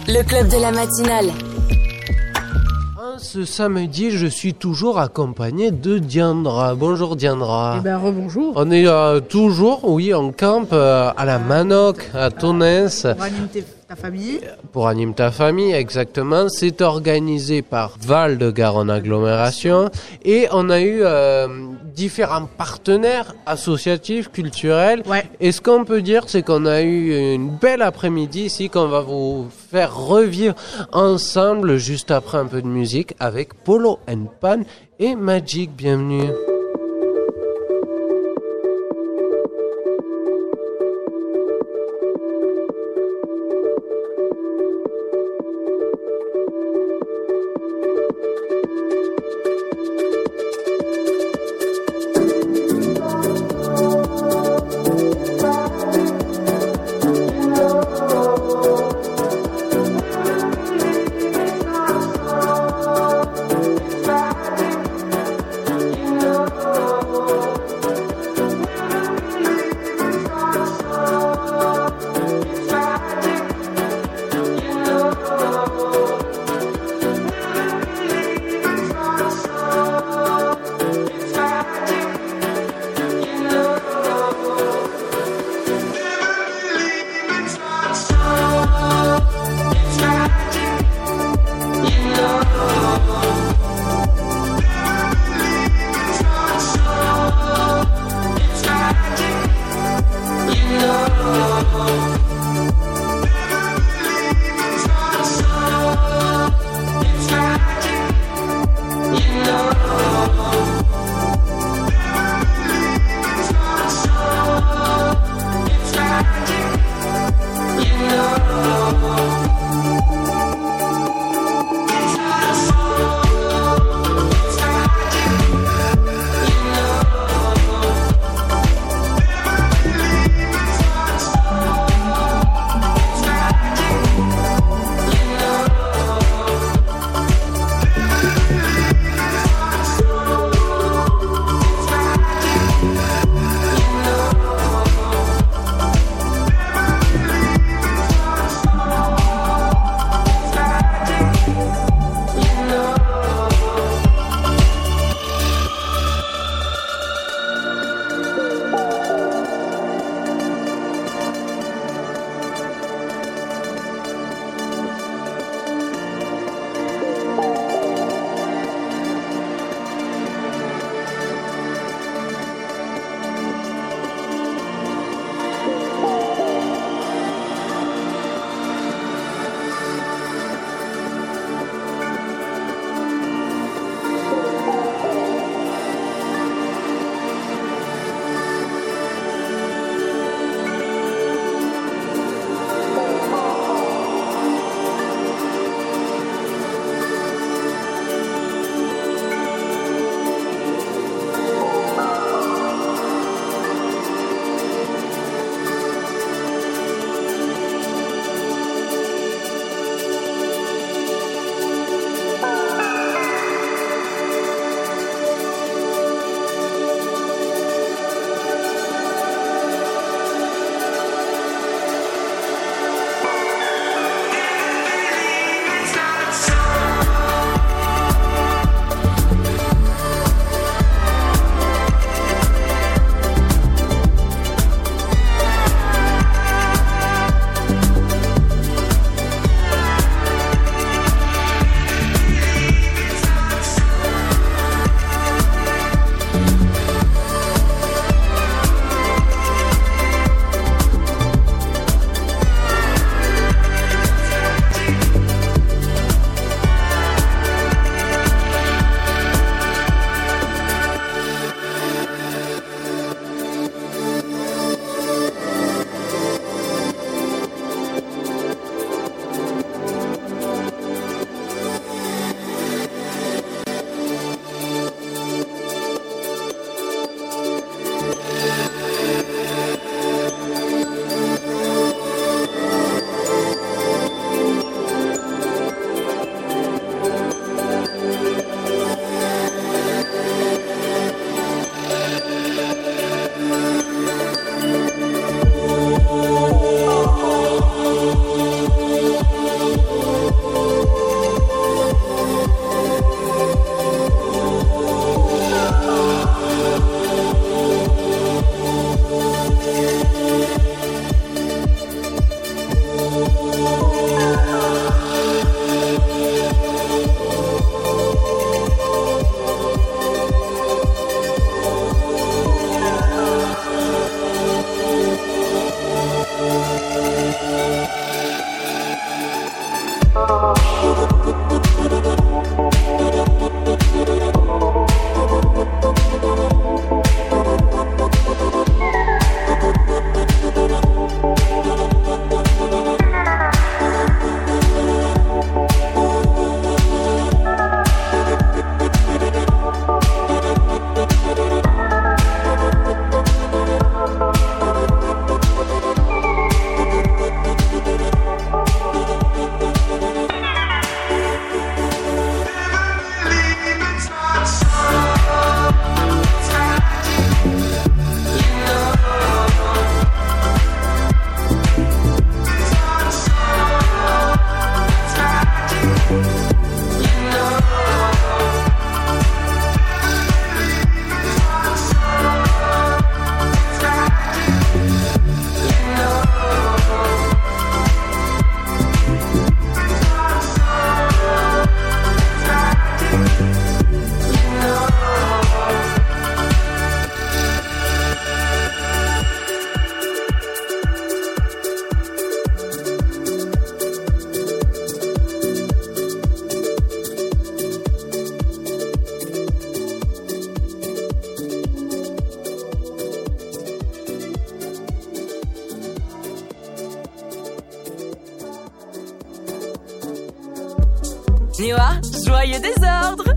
Le club de la matinale. Ce samedi, je suis toujours accompagné de Diandra. Bonjour Diandra. Eh ben rebonjour. On est toujours, en camp à la Manoc, à Tonnes. Pour animer ta famille. Pour animer ta famille, exactement. C'est organisé par Val-de-Garonne Agglomération. Et on a eu différents partenaires associatifs, culturels. Ouais. Et ce qu'on peut dire, c'est qu'on a eu une belle après-midi ici qu'on va vous faire revivre ensemble juste après un peu de musique avec Polo and Pan et Magic. Bienvenue. Niwa, joyeux désordre.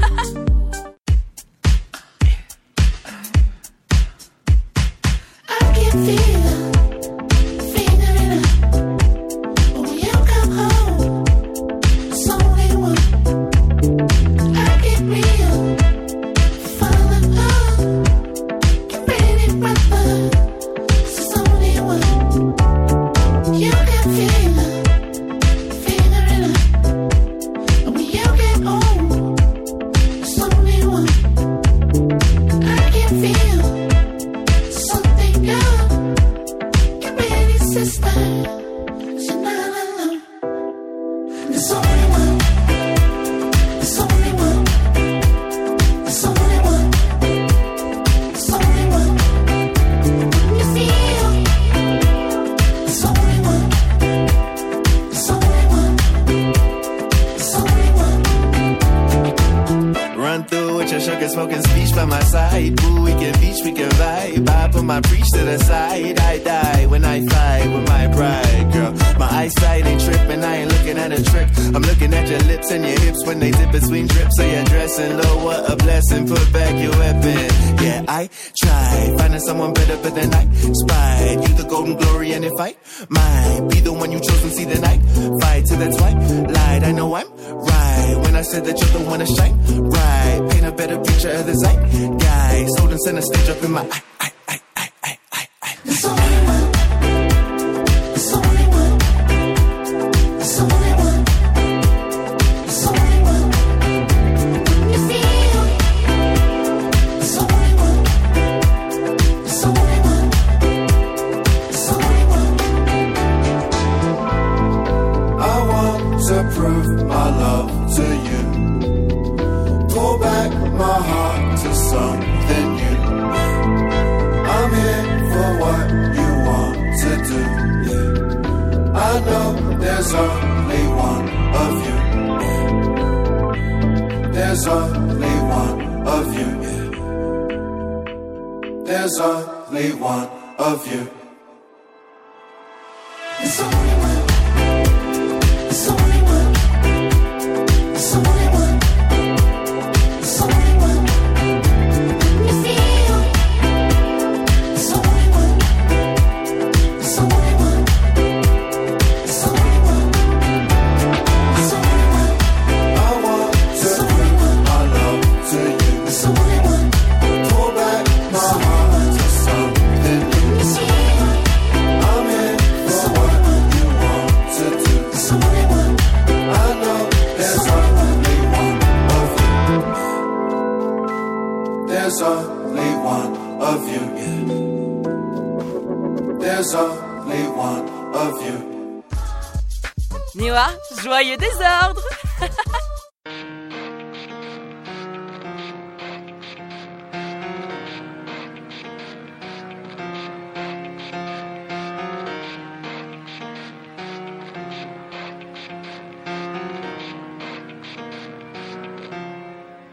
Niwa, joyeux désordre.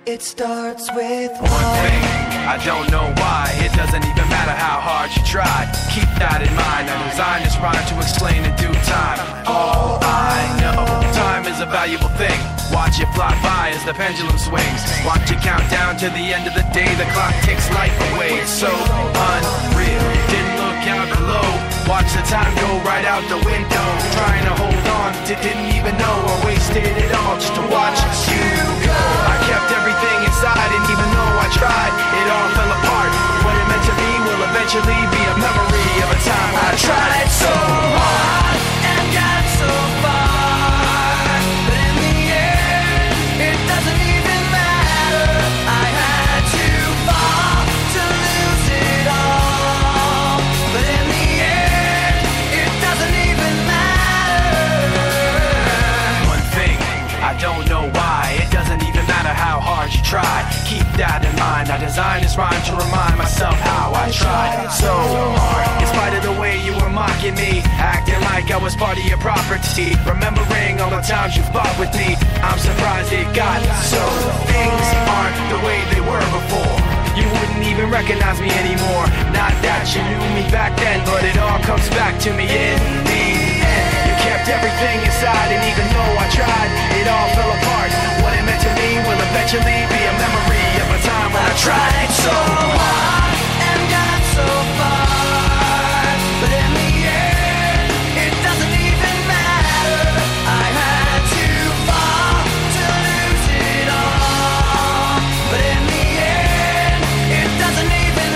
It starts with one thing. I don't know why. It doesn't even matter how hard you try. Keep that in mind. I designed this rhyme to explain in due time. All I know, time is a valuable thing. Watch it fly by as the pendulum swings. Watch it count down to the end of the day. The clock takes life away. It's so unreal. Didn't look out below. Watch the time go right out the window. Trying to hold on, didn't even know I wasted it all just to watch you go. I kept everything inside, and even though I tried, it all fell apart. What it meant to be will eventually be a memory of a time when I tried so hard and got so far. But in the end, it doesn't even matter. I had to fall to lose it all. But in the end, it doesn't even matter. One thing, I don't know why. It doesn't even matter how hard you try. Keep that in mind. I designed this rhyme to remind myself how I tried so hard. In spite of the way you were mocking me, acting like I was part of your property, remembering all the times you fought with me, I'm surprised it got so. Things aren't the way they were before. You wouldn't even recognize me anymore. Not that you knew me back then, but it all comes back to me in the end. You kept everything inside, and even though I tried, it all fell apart. What it meant to me will eventually be a memory of a time when I tried so hard and got so far. But in the end, it doesn't even matter. I had to fall to lose it all. But in the end, it doesn't even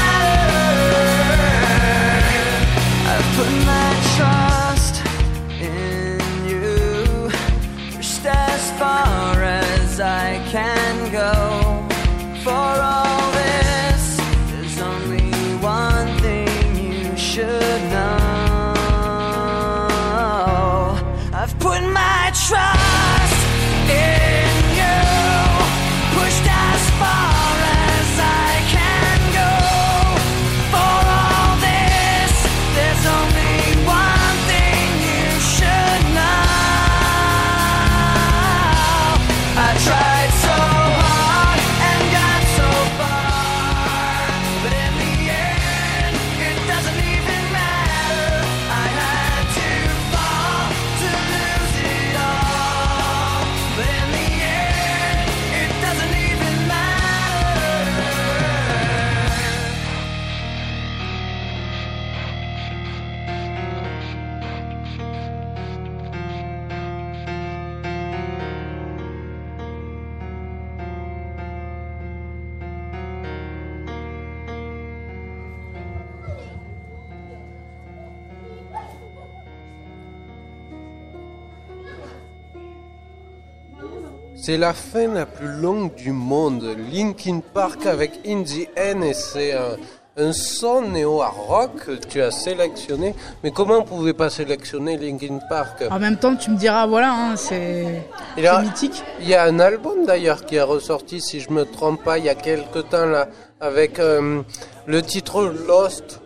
matter. I've put my trust in you, pushed as far as I can go. For all this, there's only one thing you should know. I've put my trust in you, pushed as far as I can go. For all this, there's only one thing you should know. I tried so hard and got so far, but in the end, it doesn't even matter. I had to fall to lose it all, but in the end, it doesn't even matter. C'est la fin la plus longue du monde. Linkin Park avec In the End, et c'est un son néo-hard rock que tu as sélectionné. Mais comment on pouvait pas sélectionner Linkin Park? En même temps, tu me diras, voilà, hein, c'est mythique. Il y a un album d'ailleurs qui est ressorti, si je me trompe pas, il y a quelque temps là, avec le titre Lost.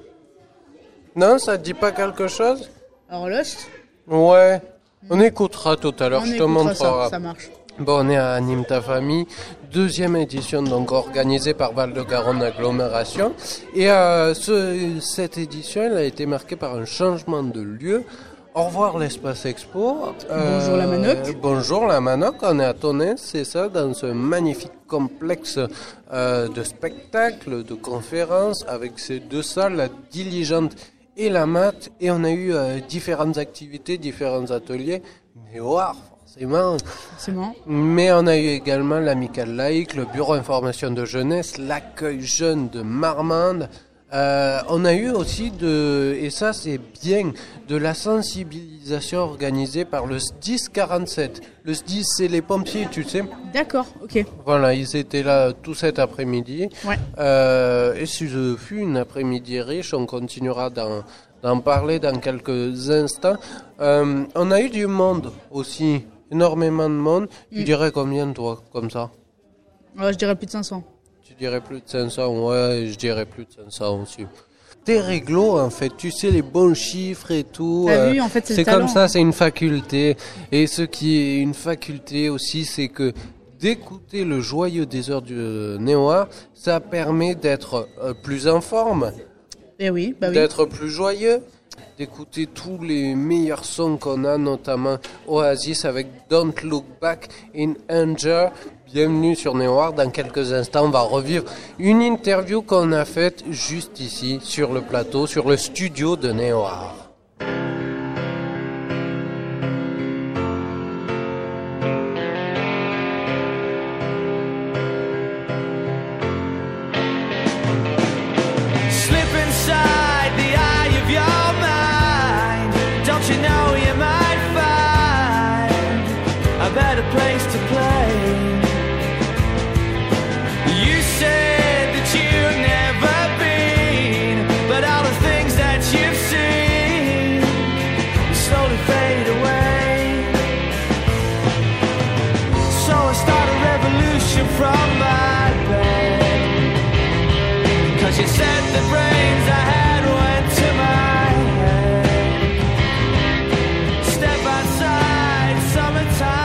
Non, ça te dit pas quelque chose? Alors Lost, Ouais, on écoutera tout à l'heure, on je te écoutera montrerai. ça marche. Bon, on est à Anime ta famille, deuxième édition donc organisée par Val-de-Garonne Agglomération. Et cette édition, elle a été marquée par un changement de lieu. Au revoir l'espace expo. Bonjour la Manoc. Bonjour la Manoc, on est à Tonnet, c'est ça, dans ce magnifique complexe de spectacles, de conférences, avec ces deux salles, la Diligente et la Mat. Et on a eu différentes activités, différents ateliers. Mais wow, forcément. Mais on a eu également l'Amicale laïque, le Bureau information de jeunesse, l'accueil jeune de Marmande. On a eu aussi et ça c'est bien, de la sensibilisation organisée par le SDIS 47. Le SDIS, c'est les pompiers, tu sais. D'accord, ok. Voilà, ils étaient là tout cet après-midi. Ouais. Et ce fut une après-midi riche, on continuera d'en parler dans quelques instants. On a eu du monde aussi, énormément de monde. Tu dirais combien toi, comme ça? Je dirais plus de 500. Tu dirais plus de 500, ouais, je dirais plus de 500 aussi. T'es réglo en fait, tu sais les bons chiffres et tout. T'as vu, en fait, c'est comme talent. ça, c'est une faculté. Et ce qui est une faculté aussi, c'est que d'écouter le joyeux désert du Néo-Art, ça permet d'être plus en forme, d'être plus joyeux, d'écouter tous les meilleurs sons qu'on a, notamment Oasis avec Don't Look Back in Anger. Bienvenue sur Néo-Art. Dans quelques instants, on va revivre une interview qu'on a faite juste ici, sur le plateau, sur le studio de Néo-Art. Place to play. You said that you've never been, but all the things that you've seen slowly fade away. So I start a revolution from my bed, 'cause you said the brains I had went to my head. Step outside, summertime.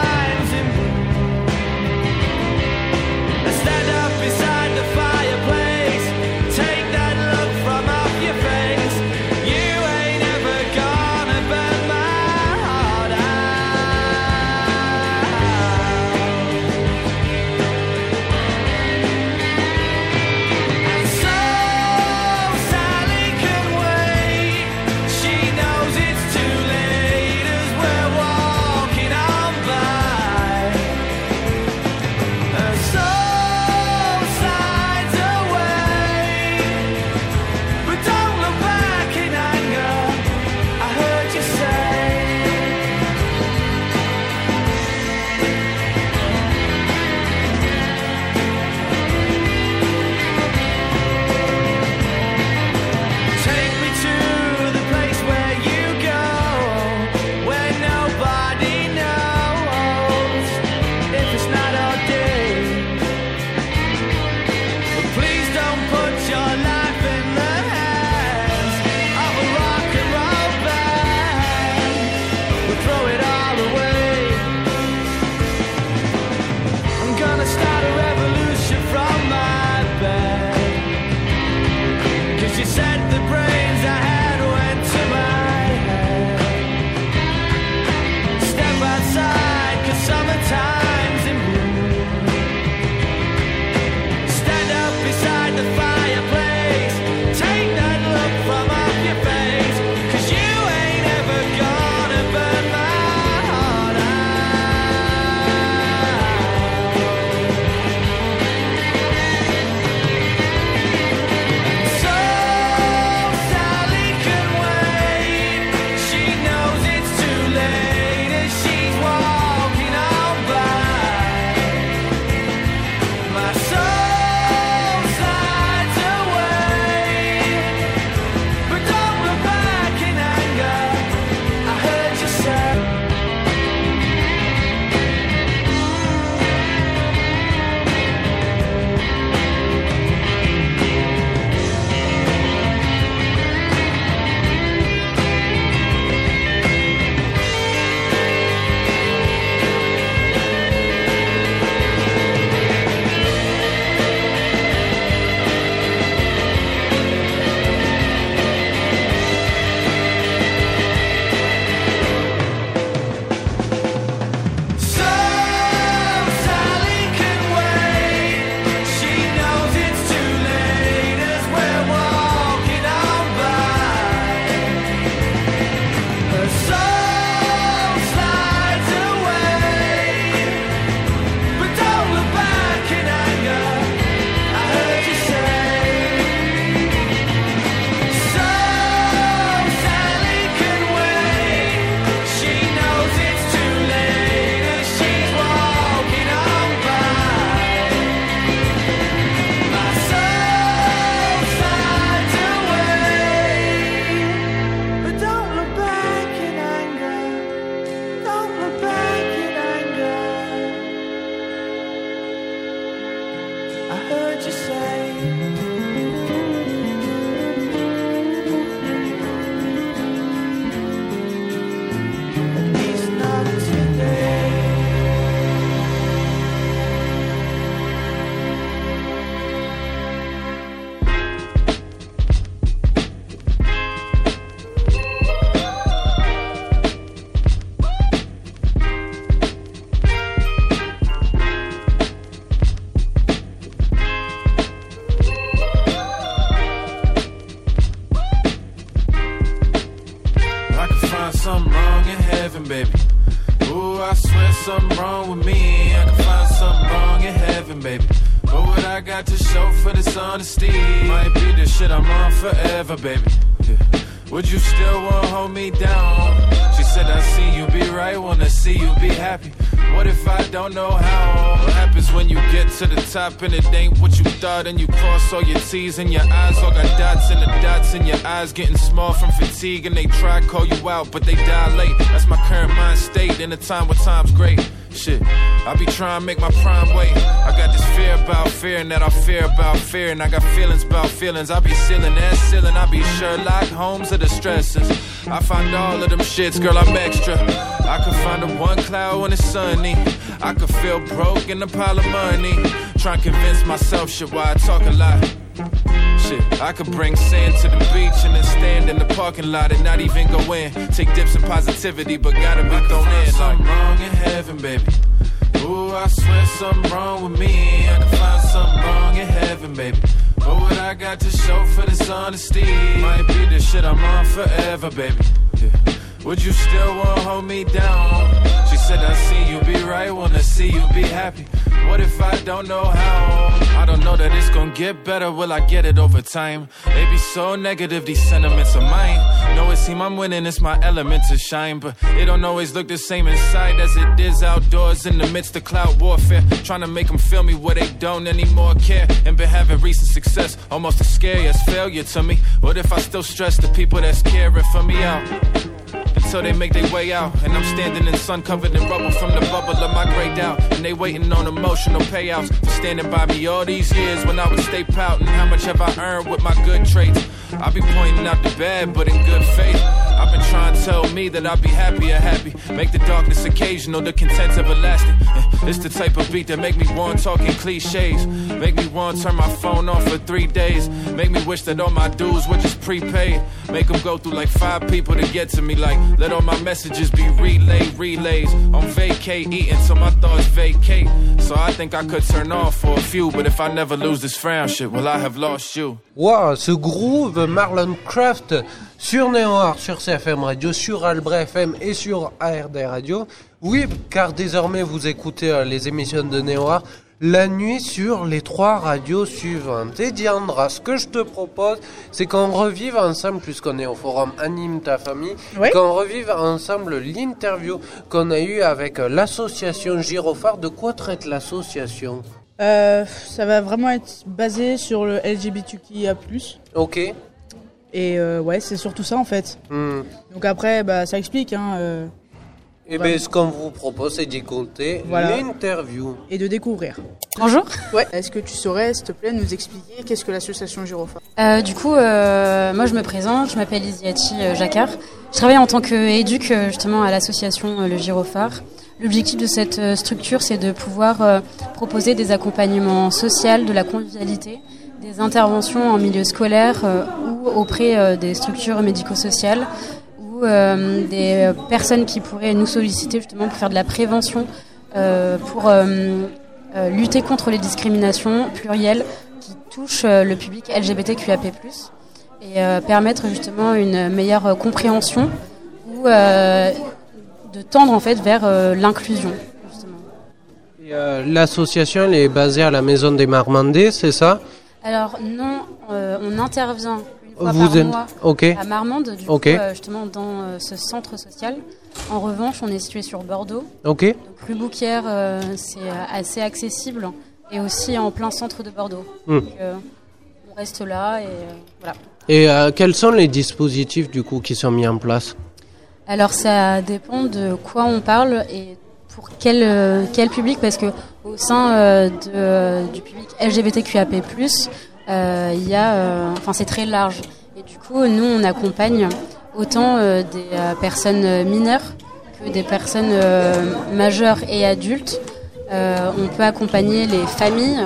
Stand up beside the fireplace. Take that look from off your face. You ain't ever gonna burn my heart out. And so Sally can wait. She knows it's too late as we're walking on by. And so my heaven, baby. Ooh, I swear something wrong with me. I can find something wrong in heaven, baby. But what I got to show for this honesty might be the shit I'm on forever, baby. Yeah. Would you still wanna hold me down? She said I see you be right, wanna see you be happy. What if I don't know how? What happens when you get to the top and it ain't what you thought, and you cross all your T's and your eyes all got dots, and the dots in your eyes getting small from fatigue, and they try to call you out but they dilate. That's my current mind state in a time where time's great. Shit, I be trying to make my prime wait. I got this fear about fear, and that I fear about fear, and I got feelings about feelings. I be sealing that ceiling, I be Sherlock Holmes of the stresses. I find all of them shits, girl, I'm extra. I could find the one cloud when it's sunny. I could feel broke in a pile of money. Trying to convince myself shit why I talk a lot. Shit, I could bring sand to the beach and then stand in the parking lot and not even go in. Take dips in positivity, but gotta be thrown in. Something wrong in heaven, baby. Ooh, I swear something wrong with me. I can find something wrong in heaven, baby. But what I got to show for this honesty might be the shit I'm on forever, baby. Yeah. Would you still wanna hold me down? She said I see you be right, wanna see you be happy. What if I don't know how? I don't know that it's gonna get better, will I get it over time? They be so negative, these sentiments of mine. Know it seem I'm winning, it's my element to shine, but it don't always look the same inside as it is outdoors in the midst of cloud warfare. Trying to make them feel me where they don't anymore care, and been having recent success, almost as scary as failure to me. What if I still stress the people that's caring for me out? Until they make their way out, and I'm standing in sun covered in rubble from the bubble of my grey doubt, and they waiting on emotional payouts for standing by me all these years when I would stay pouting. How much have I earned with my good traits? I be pointing out the bad, but in good faith. I've been trying to tell me that I'll be happy. Make the darkness occasional, the content's everlasting. It's the type of beat that make me want talking cliches. Make me want turn my phone off for 3 days. Make me wish that all my dues were just prepaid. Make them go through like 5 people to get to me. Like, let all my messages be relays. On vacay, eating till my thoughts vacate. So I think I could turn off for a few, but if I never lose this frown shit, will I have lost you? Wow, ce groove Marlon Craft sur Néo-Art, sur CFM Radio, sur Albre FM et sur ARD Radio. Oui, car désormais vous écoutez les émissions de Néo-Art la nuit sur les 3 radios suivantes. Et Diandra, ce que je te propose, c'est qu'on revive ensemble, puisqu'on est au forum Anime ta famille, oui, qu'on revive ensemble l'interview qu'on a eue avec l'association Gyrophare. De quoi traite l'association ? Ça va vraiment être basé sur le LGBTQIA+. Ok. Et ouais, c'est surtout ça en fait. Donc après, ça explique. Et bien, ce qu'on vous propose, c'est d'écouter l'interview. Et de découvrir. Bonjour. Ouais. Est-ce que tu saurais, s'il te plaît, nous expliquer qu'est-ce que l'association Gyrophare ? Du coup, moi je me présente, je m'appelle Isiati Jacquard. Je travaille en tant qu'éduc justement à l'association Le Gyrophare. L'objectif de cette structure, c'est de pouvoir proposer des accompagnements sociaux, de la convivialité, des interventions en milieu scolaire ou auprès des structures médico-sociales ou des personnes qui pourraient nous solliciter justement pour faire de la prévention, pour lutter contre les discriminations plurielles qui touchent le public LGBTQIAP+, et permettre justement une meilleure compréhension ou de tendre en fait vers l'inclusion justement. Et, l'association elle est basée à la Maison des Marmandais, c'est ça ? Alors non, on intervient une fois par mois à Marmande, du coup, justement dans ce centre social. En revanche, on est situé sur Bordeaux. Donc rue Bouquière, c'est assez accessible et aussi en plein centre de Bordeaux. Donc on reste là et voilà. Et quels sont les dispositifs du coup qui sont mis en place ? Alors ça dépend de quoi on parle et pour quel public, parce que au sein du public LGBTQIAP+, il y a, c'est très large. Et du coup, nous, on accompagne autant des personnes mineures que des personnes majeures et adultes. On peut accompagner les familles.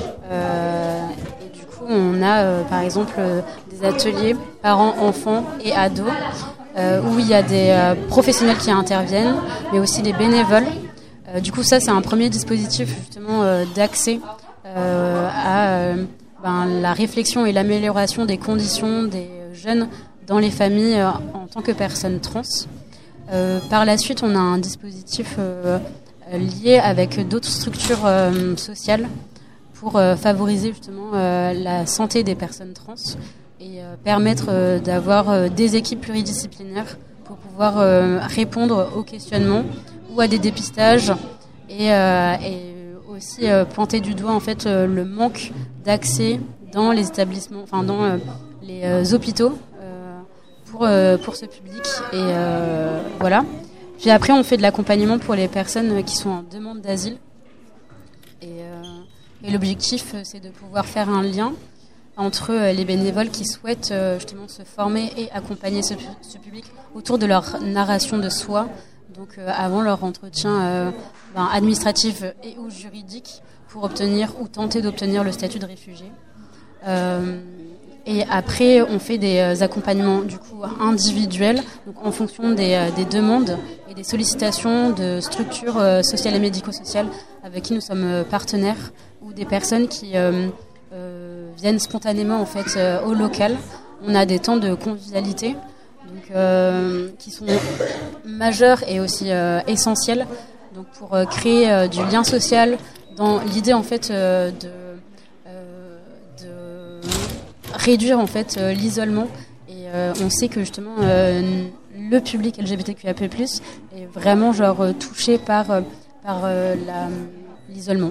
Et du coup, on a, par exemple, des ateliers parents-enfants et ados où il y a des professionnels qui interviennent, mais aussi des bénévoles. Du coup, ça, c'est un premier dispositif justement d'accès à la réflexion et l'amélioration des conditions des jeunes dans les familles en tant que personnes trans. Par la suite, on a un dispositif lié avec d'autres structures sociales pour favoriser justement la santé des personnes trans et permettre d'avoir des équipes pluridisciplinaires pour pouvoir répondre aux questionnements ou à des dépistages et aussi pointer du doigt en fait le manque d'accès dans les établissements, enfin dans les hôpitaux pour ce public et voilà. Puis après on fait de l'accompagnement pour les personnes qui sont en demande d'asile et l'objectif c'est de pouvoir faire un lien entre les bénévoles qui souhaitent justement se former et accompagner ce public autour de leur narration de soi, donc avant leur entretien administratif et ou juridique pour obtenir ou tenter d'obtenir le statut de réfugié. Et après, on fait des accompagnements du coup individuels, donc en fonction des demandes et des sollicitations de structures sociales et médico-sociales avec qui nous sommes partenaires ou des personnes qui viennent spontanément en fait au local. On a des temps de convivialité donc, qui sont majeurs et aussi essentiels donc pour créer du lien social dans l'idée en fait de réduire en fait l'isolement et on sait que justement le public LGBTQIA+ est vraiment genre touché par l'isolement.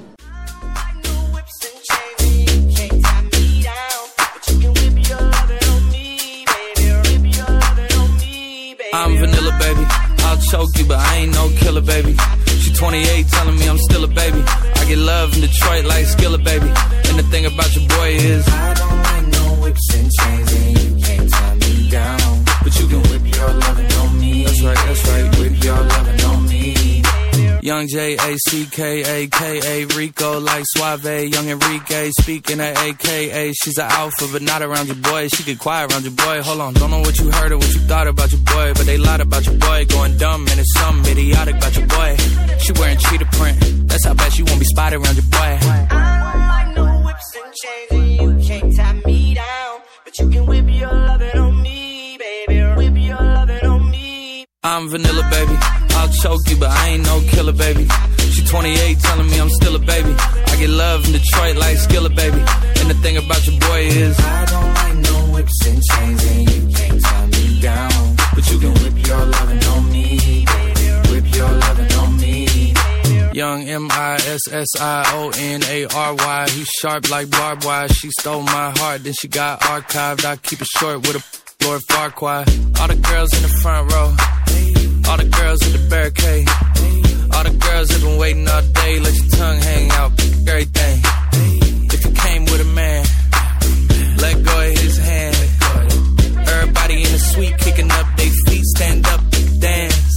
I'm vanilla, baby. I'll choke you, but I ain't no killer, baby. She 28, telling me I'm still a baby. I get love in Detroit like Skillet, baby. And the thing about your boy is I don't like no whips and chains, and you can't tie me down. But you can whip your lovin' on me. That's right, whip your lovin' on me. Young J-A-C-K-A-K-A Rico like Suave, young Enrique speaking at AKA. She's an alpha but not around your boy. She get quiet around your boy. Hold on, don't know what you heard or what you thought about your boy, but they lied about your boy. Going dumb and it's something idiotic about your boy. She wearing cheetah print, that's how bad she won't be spotted around your boy. I don't like no whips and chains and you can't tie me down, but you can whip your lovin' on me, baby. Whip your lovin' on me. I'm vanilla, baby. I'll choke you, but I ain't no killer, baby. She 28, telling me I'm still a baby. I get love in Detroit like Skillet, baby. And the thing about your boy is I don't like no whips and chains, and you can't tie me down. But you can whip your lovin' on me, baby. Whip your lovin' on me. Young M-I-S-S-I-O-N-A-R-Y. He's sharp like barbed wire. She stole my heart, then she got archived. I keep it short with a Lord Farquaad. All the girls in the front row, all the girls in the barricade, all the girls have been waiting all day. Let your tongue hang out, everything. If you came with a man, let go of his hand. Everybody in the suite kicking up their feet, stand up, dance.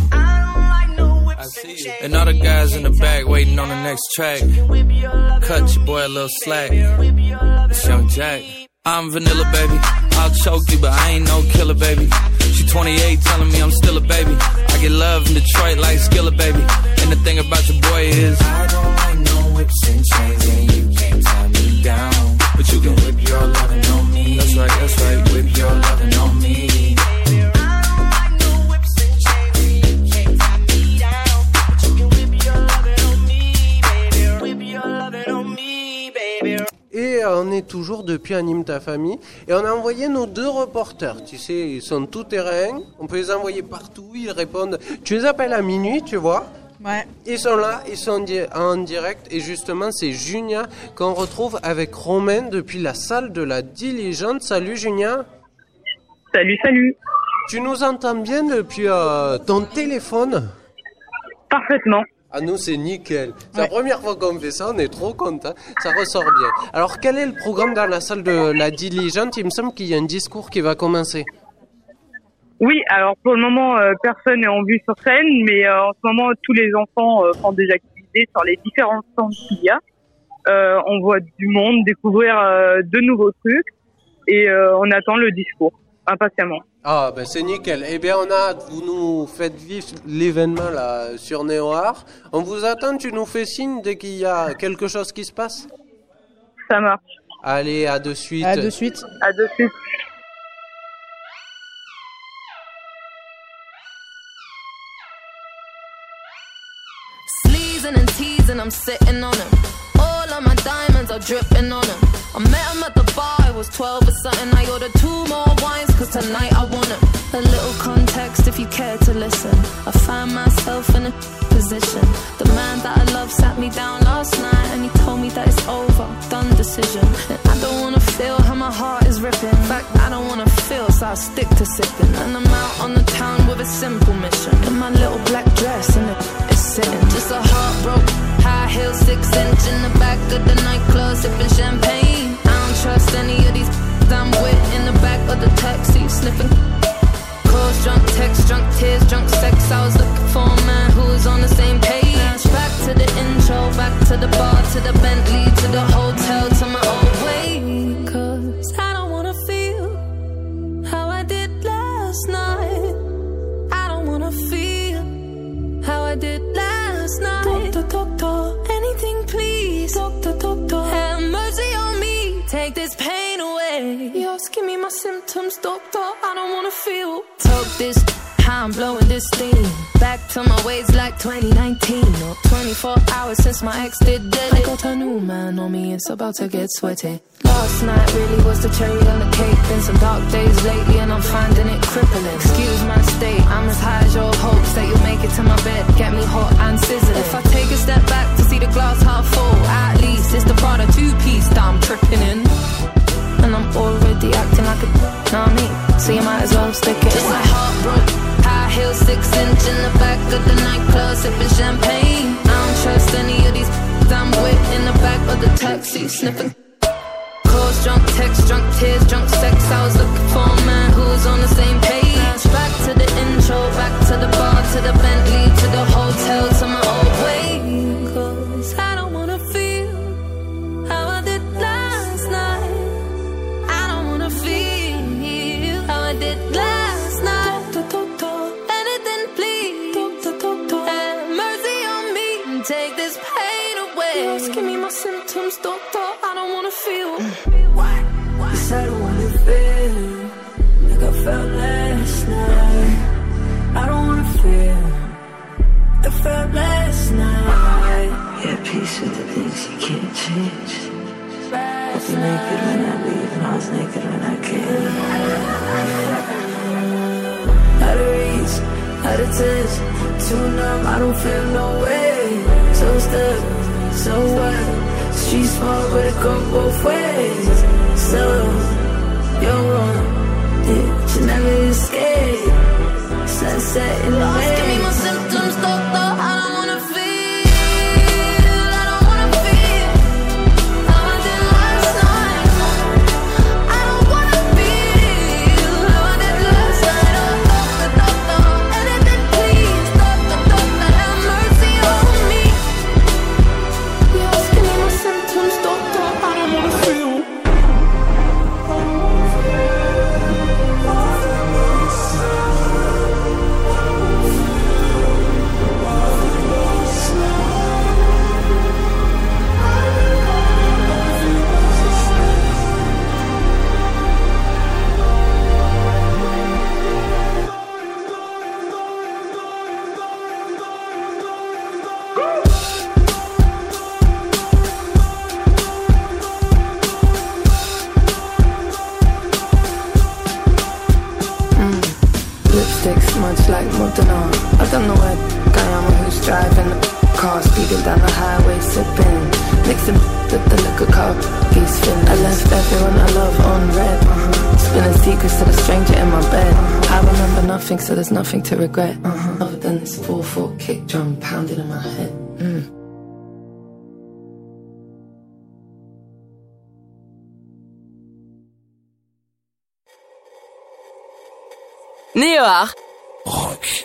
I see you. And all the guys in the back waiting on the next track. Cut your boy a little slack. It's Young Jack. I'm vanilla, baby. I'll choke you, but I ain't no killer, baby. She 28, telling me I'm still a baby. I get love in Detroit like Skillet, baby. And the thing about your boy is I don't like no whips and chains, and you can't tie me down. But you can whip your lovin' on me. That's right, whip your lovin' on me. Et on est toujours depuis Anime ta famille. Et on a envoyé nos 2 reporters. Tu sais, ils sont tout terrain. On peut les envoyer partout. Ils répondent. Tu les appelles à minuit, tu vois. Ouais. Ils sont là, ils sont en direct. Et justement, c'est Junia qu'on retrouve avec Romain depuis la salle de la Diligente. Salut Junia. Salut. Tu nous entends bien depuis ton téléphone? Parfaitement. Ah, nous, c'est nickel. C'est la première fois qu'on fait ça, on est trop contents. Ça ressort bien. Alors, quel est le programme dans la salle de la Diligente? Il me semble qu'il y a un discours qui va commencer. Oui, alors pour le moment, personne n'est en vue sur scène, mais en ce moment, tous les enfants font des activités sur les différents stands qu'il y a. On voit du monde, découvrir de nouveaux trucs, et on attend le discours, impatiemment. Ah, ben c'est nickel. Eh bien, on a hâte. Vous nous faites vivre l'événement là sur Néoart. On vous attend. Tu nous fais signe dès qu'il y a quelque chose qui se passe. Ça marche. Allez, à de suite. À de suite. À de suite. Sleazing and teasing, I'm sitting on him. All of my diamonds are dripping on him. I met him at the bar, I was 12 or something. I ordered 2 more wines, cause tonight I want him. A little context if you care to listen. I find myself in a position. The man that I love sat me down last night and he told me that it's over, done decision. And I don't wanna feel how my heart is ripping. In fact, I don't wanna feel, so I'll stick to sipping. And I'm out on the town with a simple mission. In my little black dress and it's sitting. Just a heartbroken, high heel, 6-inch in the back of the nightclub, sipping champagne. I don't trust any of these I'm with in the back of the taxi, sniffing. Calls, drunk texts, drunk tears, drunk sex. I was looking for a man who was on the same page. Back to the intro, back to the bar, to the Bentley, to the hotel, to my old way. Cause I don't wanna feel how I did last night. I don't wanna feel how I did last night. Doctor, anything please. Doctor, have mercy on me. Take this pain away. You're asking me my symptoms, doctor. I don't wanna feel. Talk this, how I'm blowing this steam. Back to my ways like 2019. Or 24 hours since my ex did dead. I got a new man on me, it's about to get sweaty. Last night really was the cherry on the cake. Been some dark days lately and I'm finding it crippling. Excuse my state, I'm as high as your hopes that you'll make it to my bed. Get me hot and sizzling. If I take a step back to see the glass half full, at least it's the Prada 2-piece that I'm tripping in. And I'm already acting like a know what I mean? So you might as well stick it. Just a heartbroken, high heel, 6-inch in the back of the nightclub, sipping champagne. I don't trust any of these I'm with in the back of the taxi, sniffing. Calls, drunk texts, drunk tears, drunk sex. I was looking for a man who was on the same page. Back to the intro, back to the bar, to the Bentley, to the hotel, to my old way. Cause I don't wanna feel how I did last night. I don't wanna feel how I did last night. Anything please. Have mercy on me and take this pain away. You're asking me my symptoms, doctor. I don't wanna feel. Cause I don't wanna feel like I felt last night. I don't wanna feel like I felt last night. Yeah, peace with the things you can't change. I was naked when I leave and I was naked when I came. Out of reach, out of touch, too numb, I don't feel no way. So stuck, so what? Street smart, but it goes both ways. So, you're wrong, yeah, you never escape. Sunset in the Lost, give me my symptoms, doctor. I don't wanna feel. I don't wanna feel how I did last night. I don't wanna feel how I did last night. Oh, doctor, anything please. Doctor, have mercy on me. You're asking me my symptoms, doctor. I don't wanna feel. Much like Montana, I don't know what Guyama who's driving the car, speeding down the highway, sipping, mixing with the liquor car, he's feeling. I left everyone I love on red, spilling secrets to the stranger in my bed. I remember nothing, so there's nothing to regret, other than this 4/4 kick drum pounding in my head. Néoar. Rock.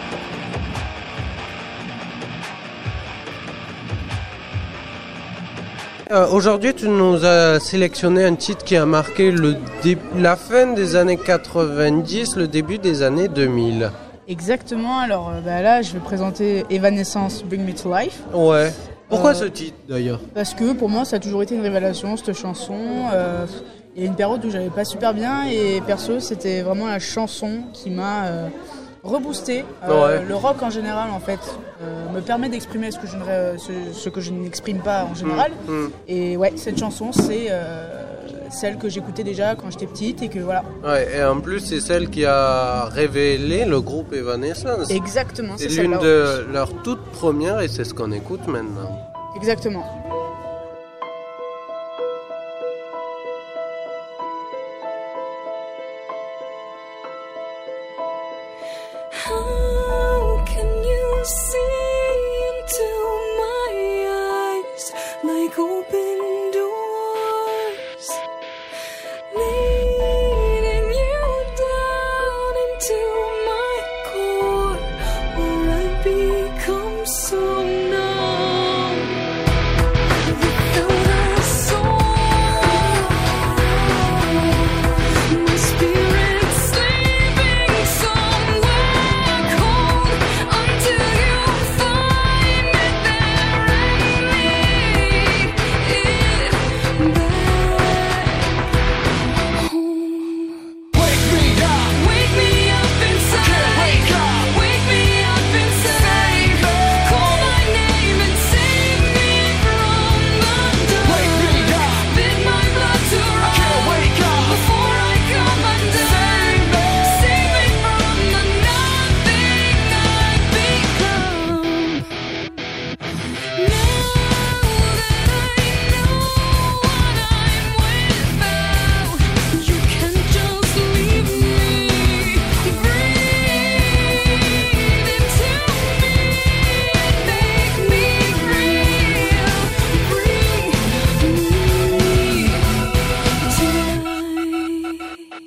Aujourd'hui, tu nous as sélectionné un titre qui a marqué la fin des années 90, le début des années 2000. Exactement, alors là je vais présenter Evanescence Bring Me to Life. Ouais. Pourquoi ce titre d'ailleurs? Parce que pour moi ça a toujours été une révélation cette chanson. Il y a une période où j'allais pas super bien et perso c'était vraiment la chanson qui m'a rebooster. Le rock en général, en fait, me permet d'exprimer ce que je n'exprime pas en général. Et ouais, cette chanson, c'est celle que j'écoutais déjà quand j'étais petite et que voilà. Ouais, et en plus, c'est celle qui a révélé le groupe Evanescence. Exactement, c'est l'une de leurs toutes premières et c'est ce qu'on écoute maintenant. Exactement. How can you see into my eyes like open doors, leading you down into my core, where I become so numb without a soul. My spirit's sleeping somewhere cold until you find it there and lead it back home. Wake me up inside. Can't wake up. Wake me up inside. Call my name and save me from the dark. Wake me up. Bid my blood to run. Can't wake up before I come undone. Save me from the nothing I've become. Now that I know what I'm without, you can just leave me. Breathe into me, make me real. Bring me tonight.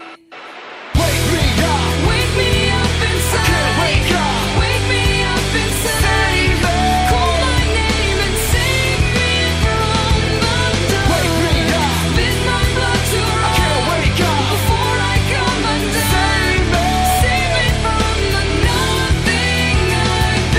Wake me up inside. Can't wake up. Wake me up inside. Call my name and save me from the dark. Bid my blood to run. Can't wake up before I come undone. Save me from the nothing I've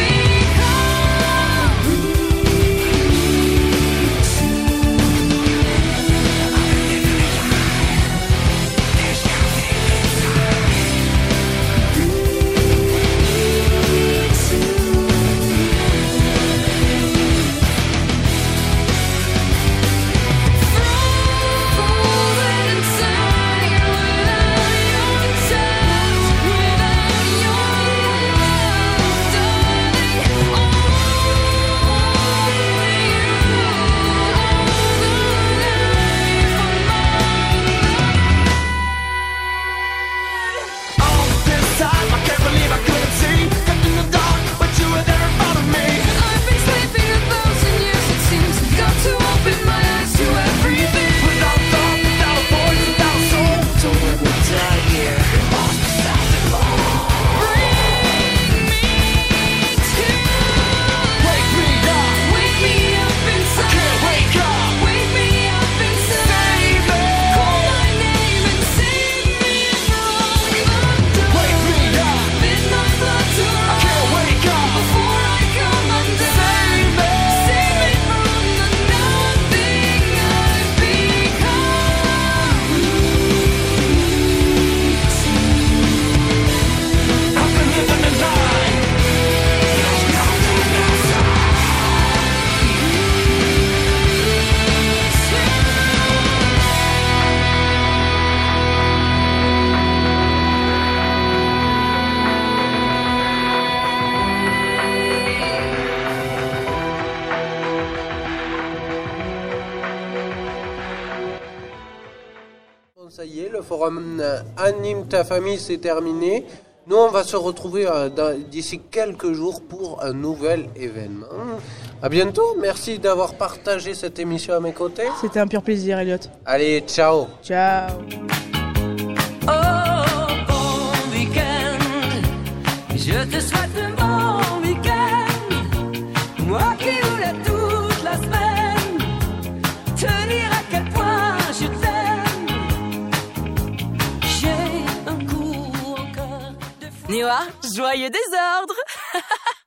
Ça y est, le forum Anime ta famille, c'est terminé. Nous, on va se retrouver d'ici quelques jours pour un nouvel événement. À bientôt. Merci d'avoir partagé cette émission à mes côtés. C'était un pur plaisir, Elliot. Allez, ciao. Ciao. Oh, bon week-end, je te souhaite un bon week-end. Moi qui voulais toute la semaine te dire à quel point je t'aime. J'ai un coup encore de fou. Niwa, joyeux désordre.